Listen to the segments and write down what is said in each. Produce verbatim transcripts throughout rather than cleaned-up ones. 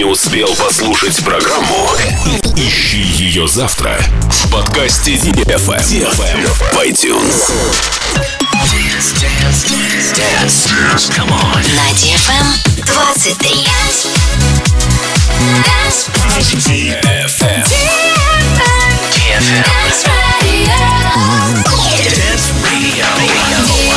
успел послушать программу, ищи ее завтра в подкасте ди эф эм в iTunes. Dance, dance, dance, dance, come on. На ди эф эм двадцать три. ди эф эм. ди эф эм. Dance Radio. Dance Radio.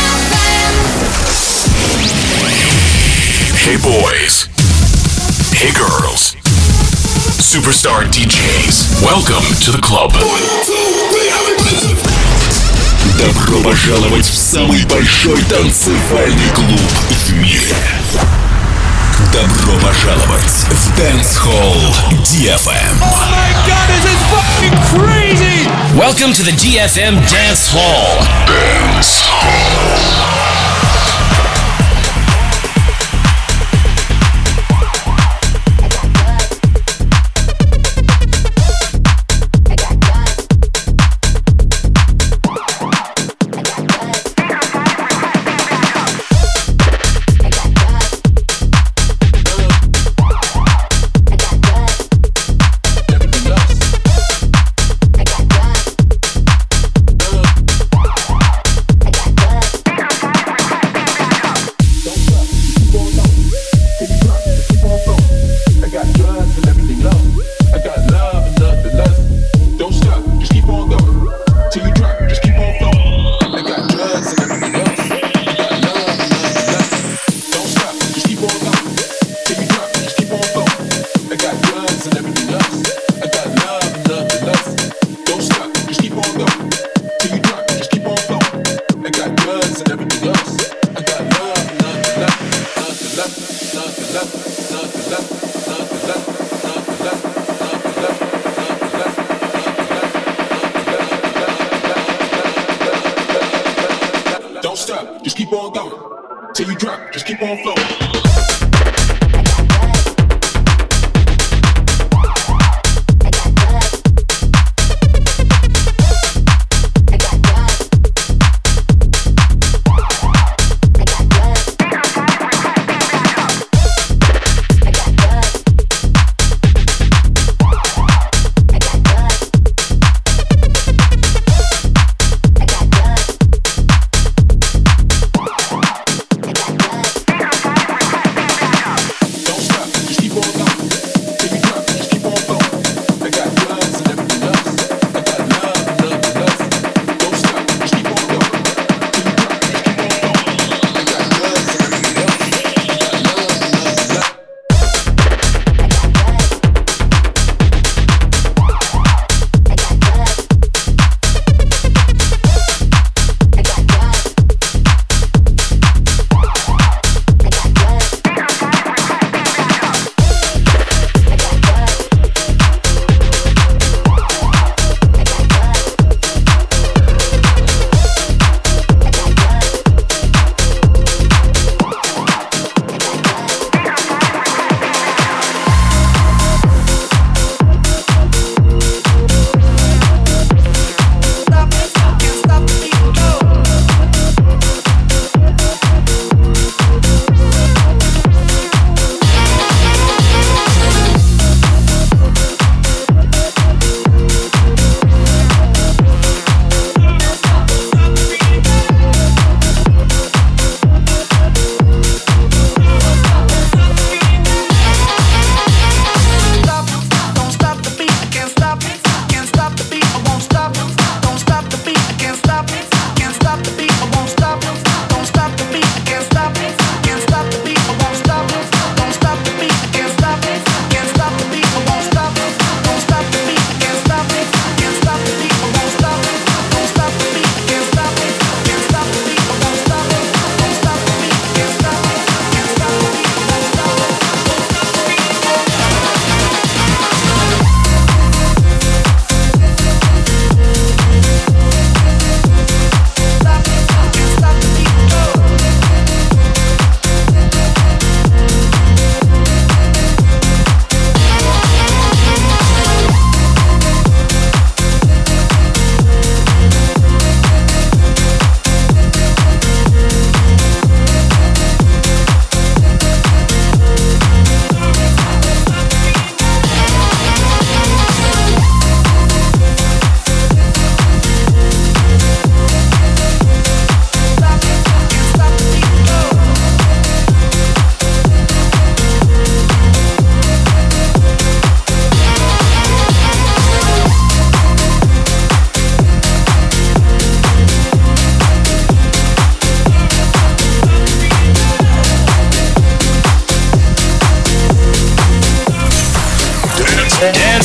Hey boys. Hey girls. Superstar ди джейс. Welcome to the club. Добро пожаловать в самый большой танцевальный клуб в мире. Добро пожаловать в Dance Hall ди эф эм. Oh my God, this is fucking crazy! Welcome to the ди эф эм Dance Hall. Dance Hall.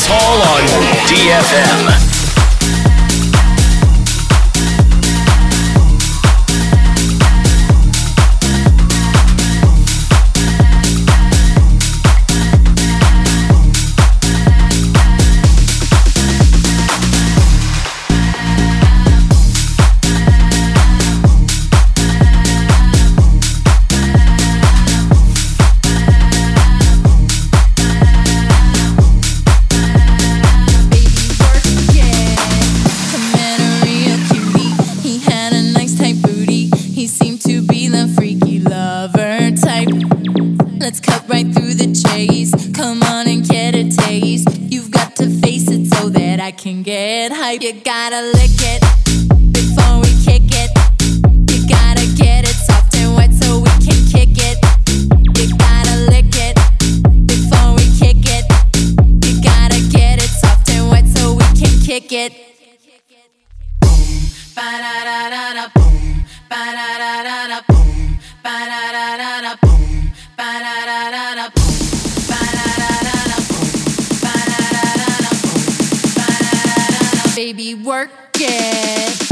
Hall on D F M. Can get hype. You gotta lick it before we kick it. You gotta get it soft and wet so we can kick it. You gotta lick it before we kick it. You gotta get it soft and wet so we can kick it. Boom, ba da da da da, boom, ba da da da da, boom, ba da da da da, boom, ba da da da da, boom. Baby, work it.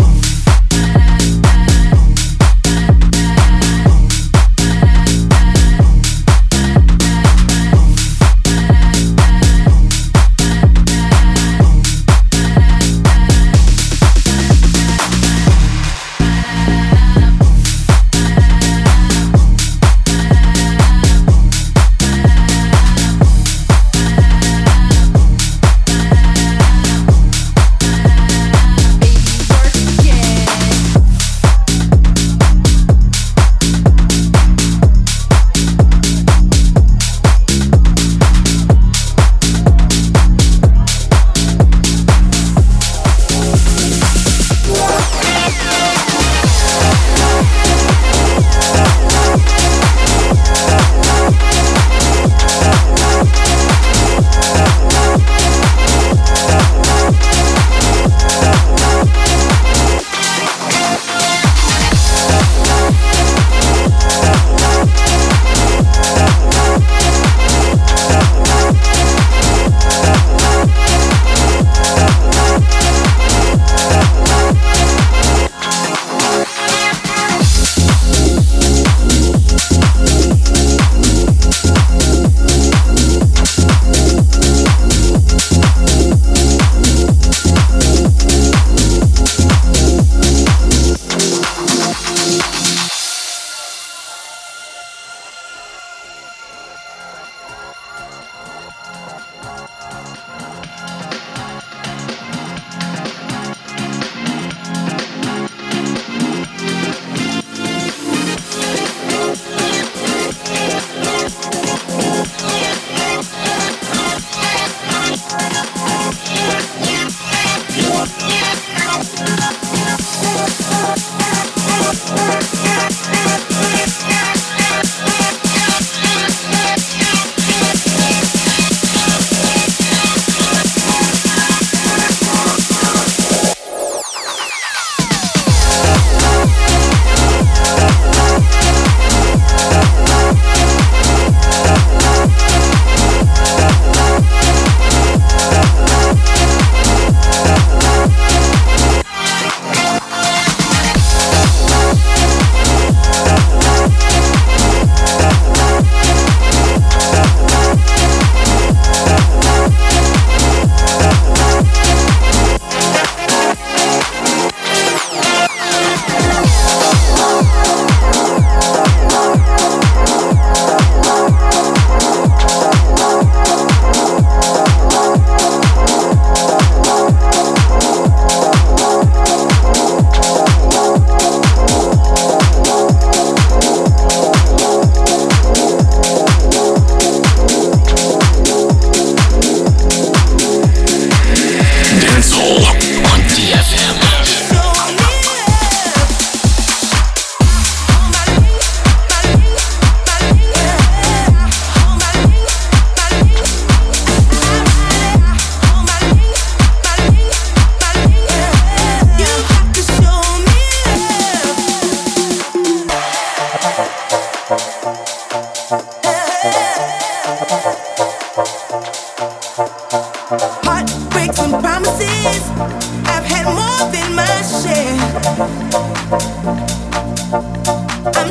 Baby, work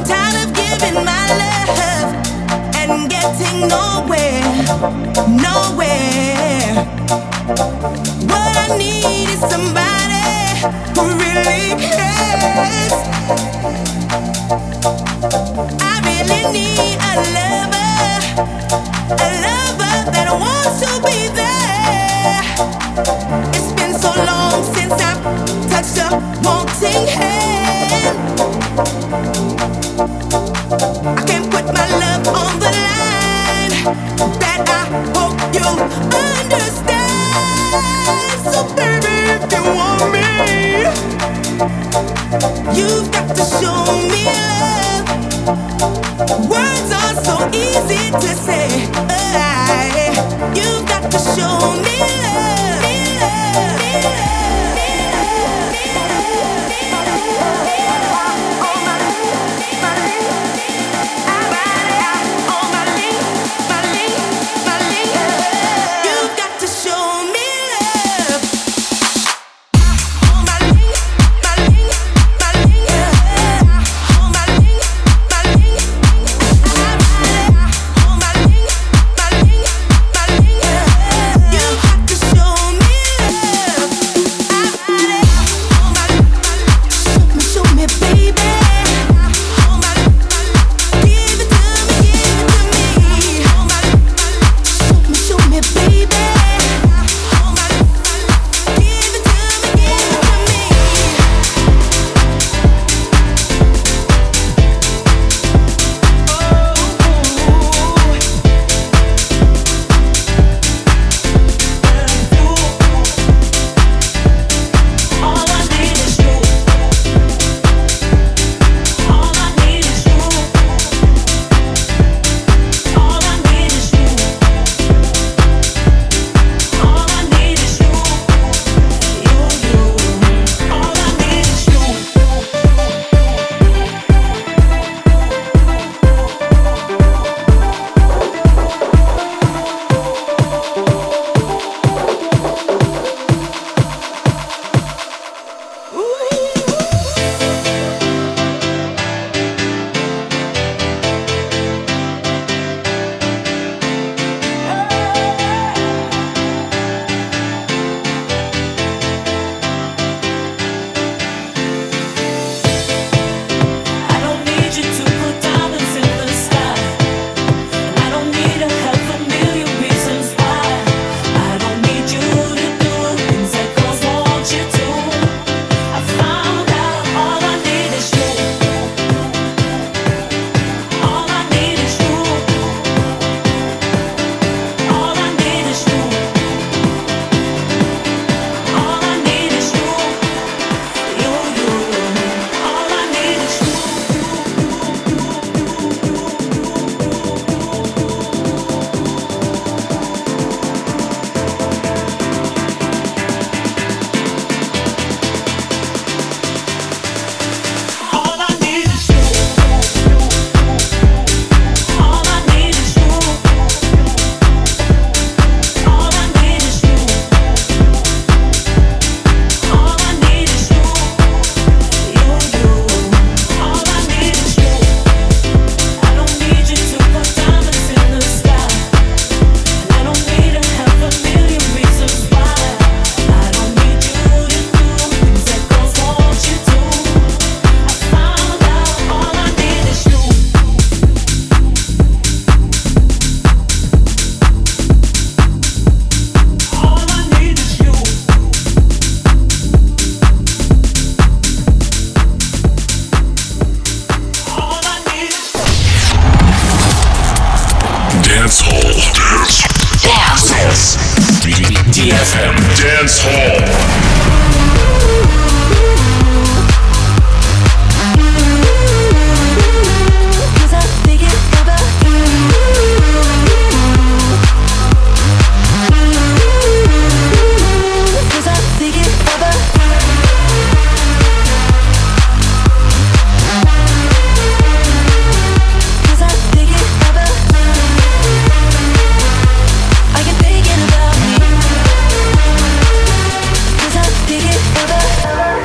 ди эф эм Dance Hall. Dig it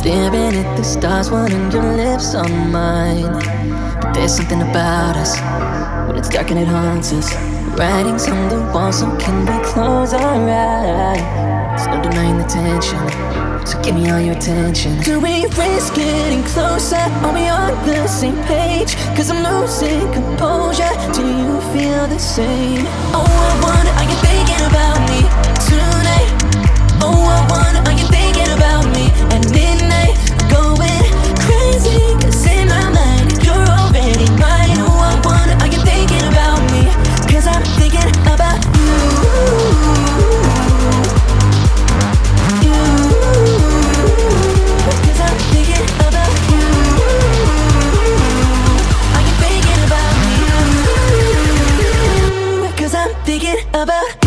Staring at the stars, wanting your lips on mine. But there's something about us, when it's dark and it haunts us. Writings on the wall, so can we close our eyes? There's no denying the tension, so give me all your attention. Do we risk getting closer? Are we on the same page? Cause I'm losing composure. Do you feel the same? Oh, I wonder, are you thinking about me tonight? Oh, I wonder, are you thinking about me at midnight? Going crazy, cause in my mind you're already mine. Oh, I wonder, are you thinking about me? Cause I'm thinking about you. You. Cause I'm thinking about you. Are you thinking about me? Cause I'm thinking about you.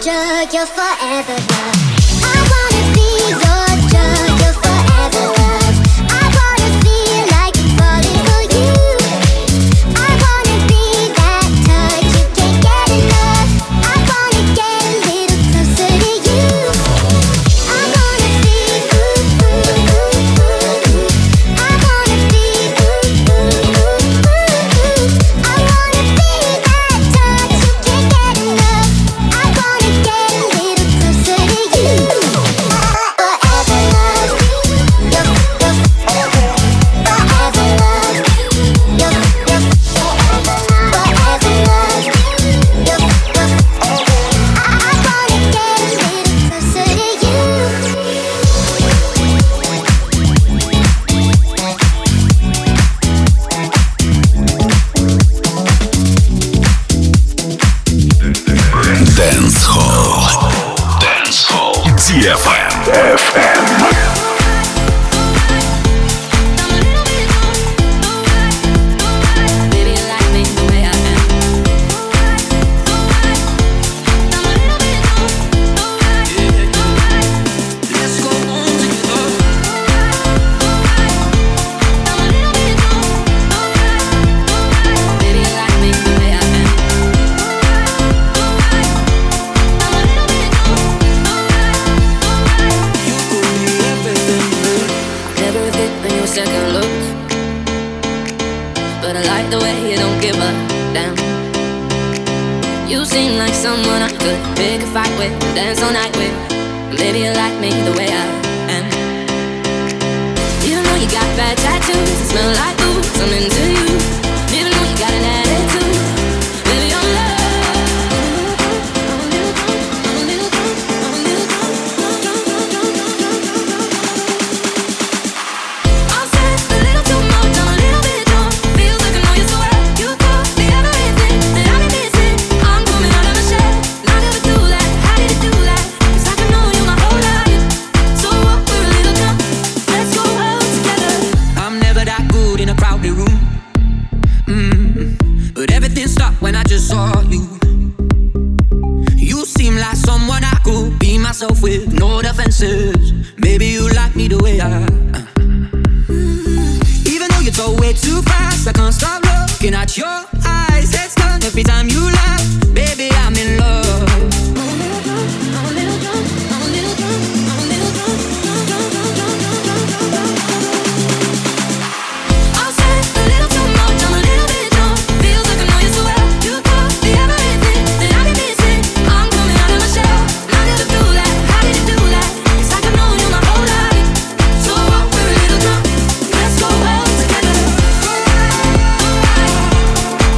drug, your forever love. I wanna be your drug, your forever love. I wanna feel like I'm falling for you. I wanna be that touch you can't get enough. I wanna get a little closer to you. I wanna be ooh, ooh, ooh, ooh. I wanna be ooh, ooh, ooh, ooh. I wanna be that touch you can't get enough. I wanna get a little closer to you. Forever love, your, your, forever love, your, your, forever love, your, your, I wanna get a little closer to you. Dance Hall. Dance Hall. ди эф эм. Baby, you like me the way I am. Let's go on together. Baby, you like me the way I am. Never a fit on your second look, but I like the way you don't give a damn. You seem like someone I could pick a fight with, dance all night with. Maybe you like me the way I am. Even though you got bad tattoos and smell like booze, I'm into you. Even though you got an attitude, baby, I'm love. I'll say a little too much, I'm a little bit drunk. Feels like I know you so well. You could be everything that I've been missing. I'm coming out of my shell. Now never do that. How did it do that? 'Cause I can know you my whole life. So what? We're a little drunk. Let's go out together. I'm never that good in a crowded room. Mm. But everything stopped when I just saw you. You seem like someone I could be myself with, no defenses. Maybe you like me the way I am. Even though you talk way too fast, I can't stop looking at your eyes. Head's done every time you laugh. Baby, I'm in love. I'm a little drunk. I'm a little drunk. I'm a little drunk. I'll say a little too much, I'm a little bit drunk. Feels like I know you so well. You could be everything that I've been missing. I'm coming out of my shell. I never do that. How did you do that? 'Cause I can know you my whole life. So what? We're a little drunk. Let's go out together.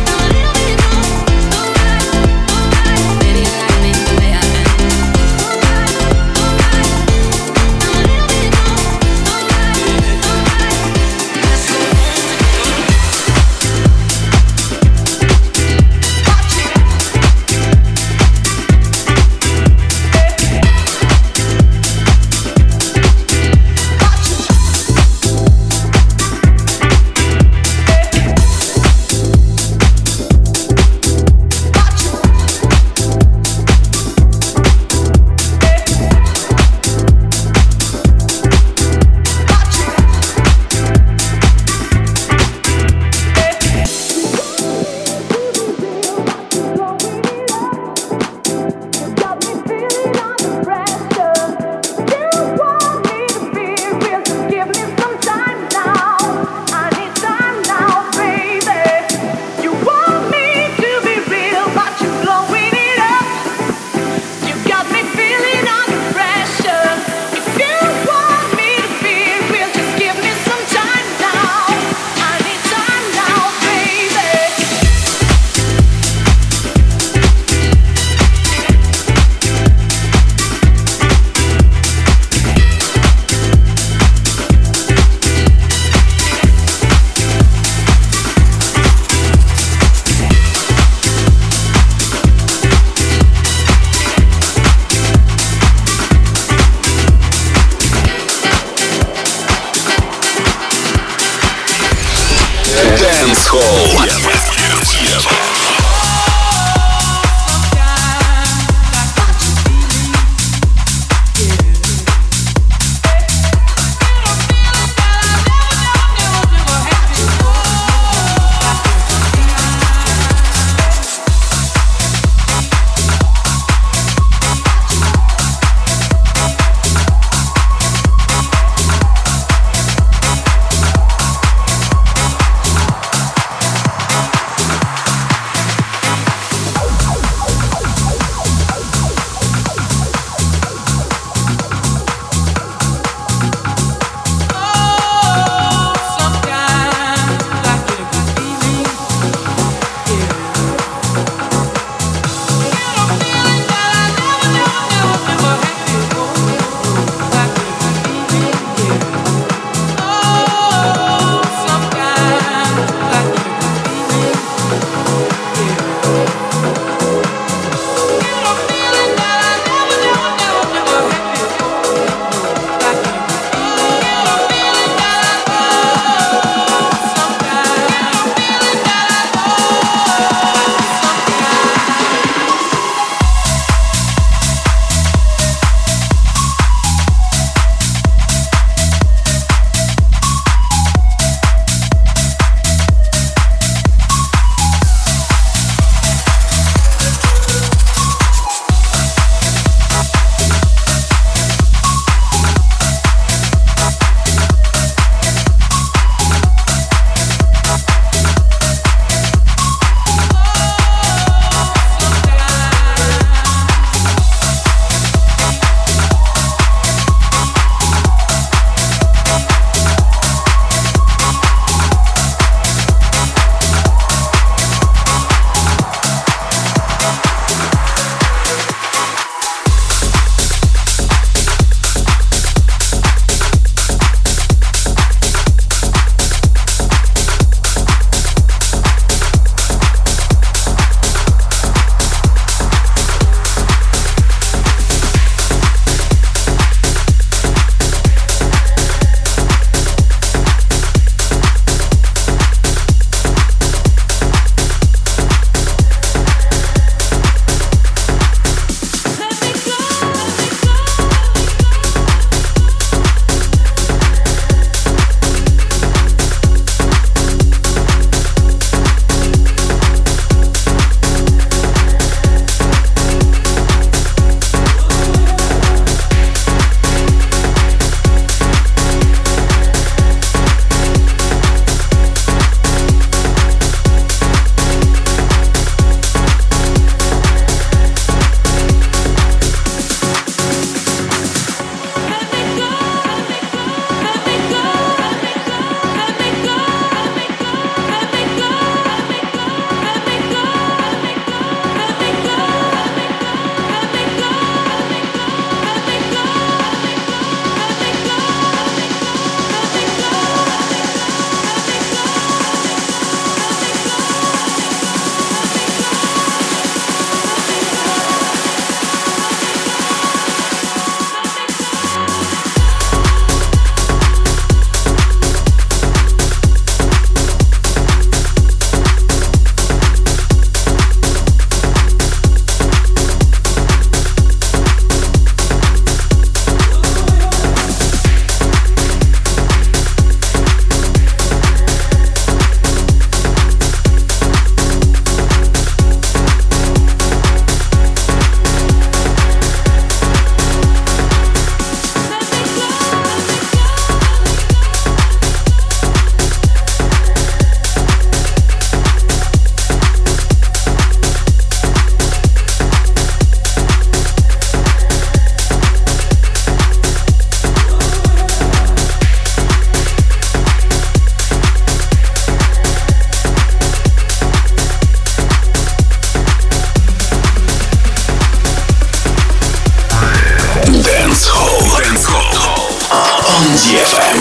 ди эф эм.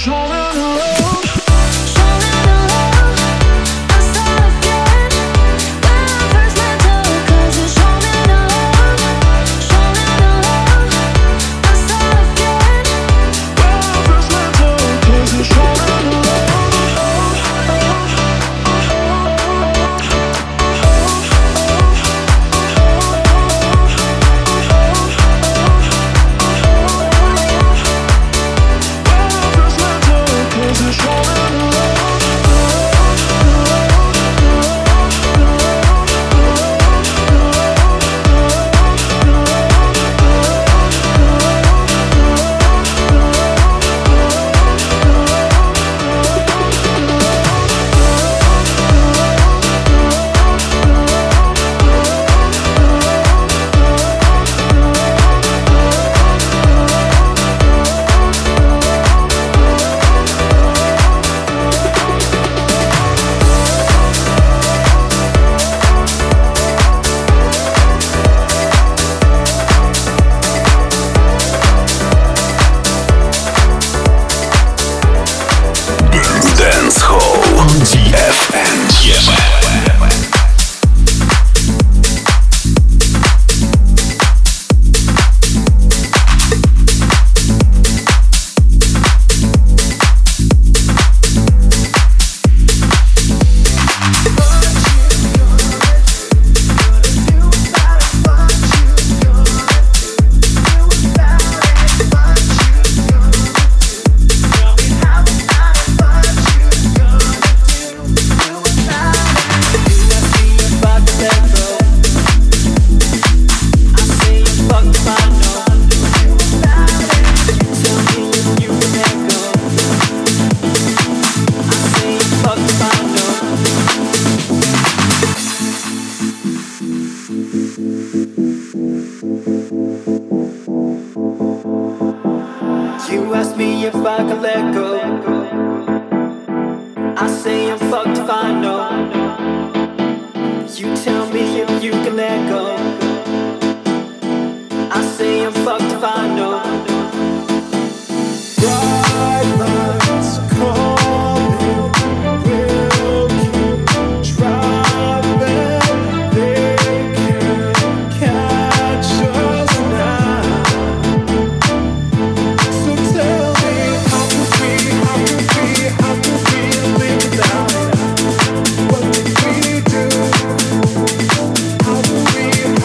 How do we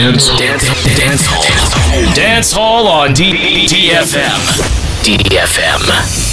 Dance, dance, dance hall. Dance hall on D- DFM. D F M.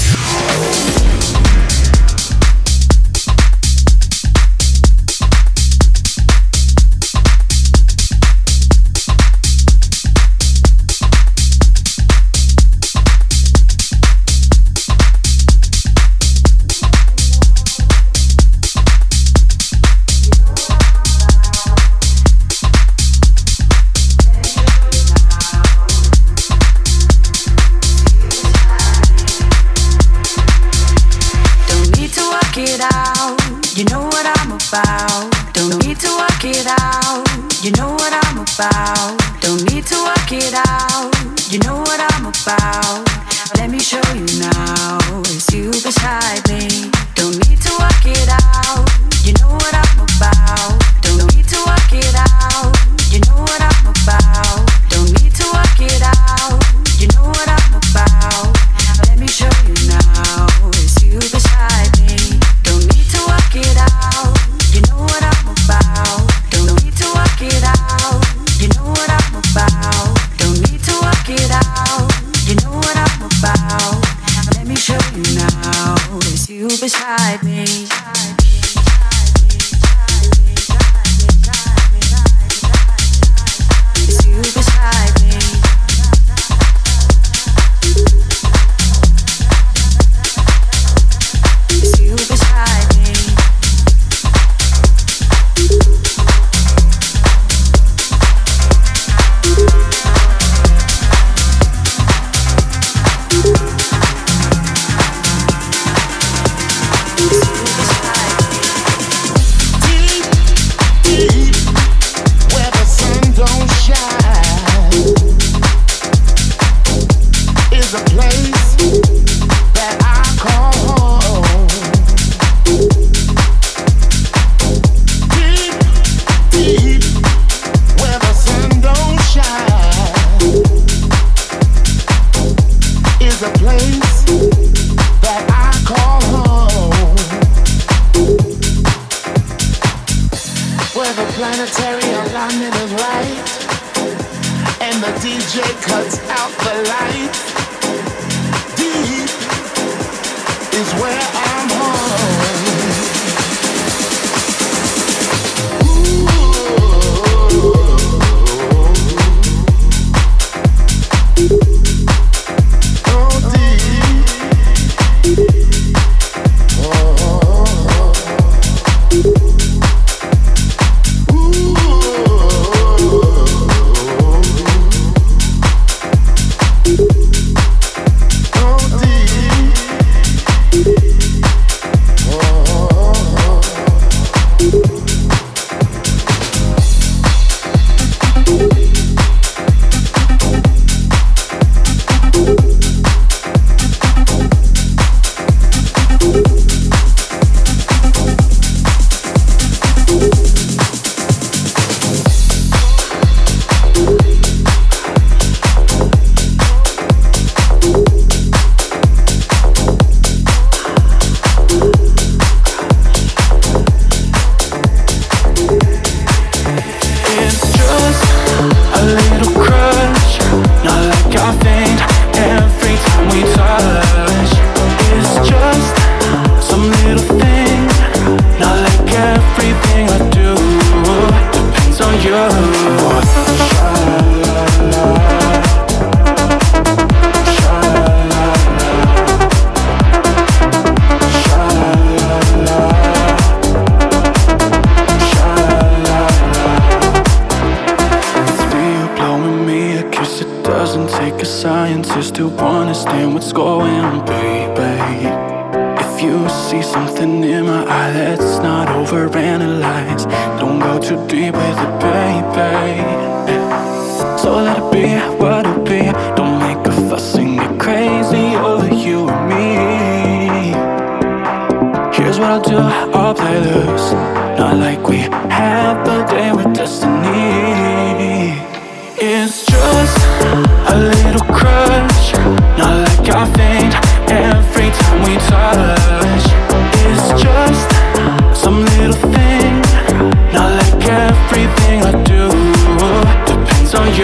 Some little thing, not like everything I do.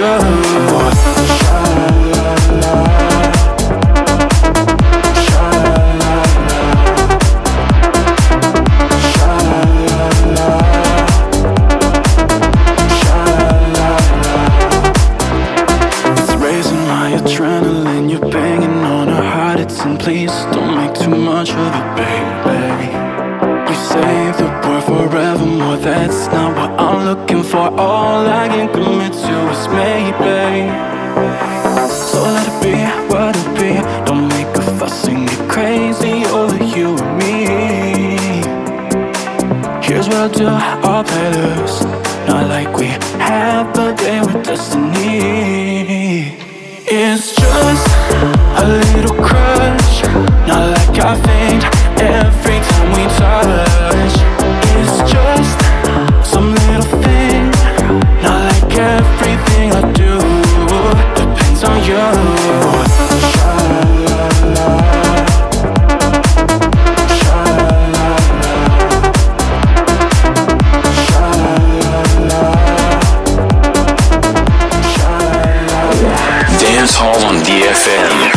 Please don't make too much of it, baby. You say the word forevermore, that's not what I'm looking for. All I can commit to is maybe. So let it be what it be. Don't make a fuss and get crazy over you and me. Here's what I'll do, I'll play loose. Not like we have a day with destiny. It's just a little crush, not like I faint every time we touch. It's just some little thing, not like everything I do depends on you. Dance Hall on D F M.